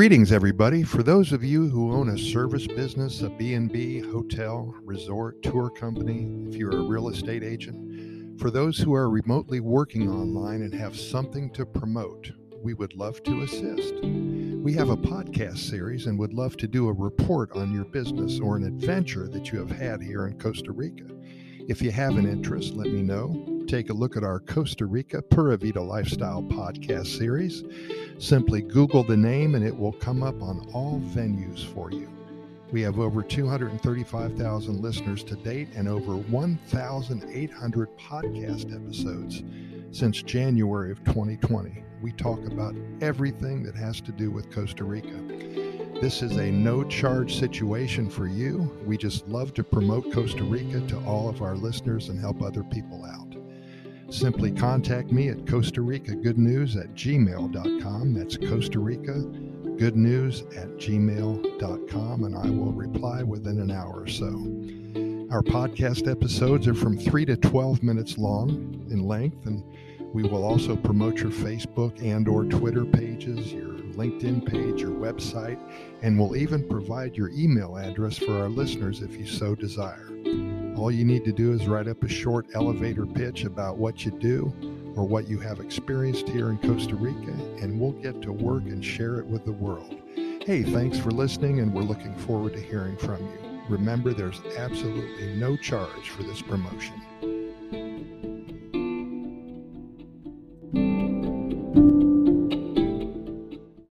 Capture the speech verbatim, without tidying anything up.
Greetings, everybody. For those of you who own a service business, a B and B, hotel, resort, tour company, if you're a real estate agent, for those who are remotely working online and have something to promote, we would love to assist. We have a podcast series and would love to do a report on your business or an adventure that you have had here in Costa Rica. If you have an interest, let me know. Take a look at our Costa Rica Pura Vida Lifestyle podcast series. Simply Google the name and it will come up on all venues for you. We have over two hundred thirty-five thousand listeners to date and over one thousand eight hundred podcast episodes since January of twenty twenty. We talk about everything that has to do with Costa Rica. This is a no-charge situation for you. We just love to promote Costa Rica to all of our listeners and help other people out. Simply contact me at Costa Rica Good News at gmail dot com. That's Costa Rica Good News at gmail dot com, and I will reply within an hour or so. Our podcast episodes are from three to twelve minutes long in length, and we will also promote your Facebook and or Twitter pages, your LinkedIn page, your website, and we'll even provide your email address for our listeners if you so desire. All you need to do is write up a short elevator pitch about what you do or what you have experienced here in Costa Rica, and we'll get to work and share it with the world. Hey, thanks for listening, and we're looking forward to hearing from you. Remember, there's absolutely no charge for this promotion.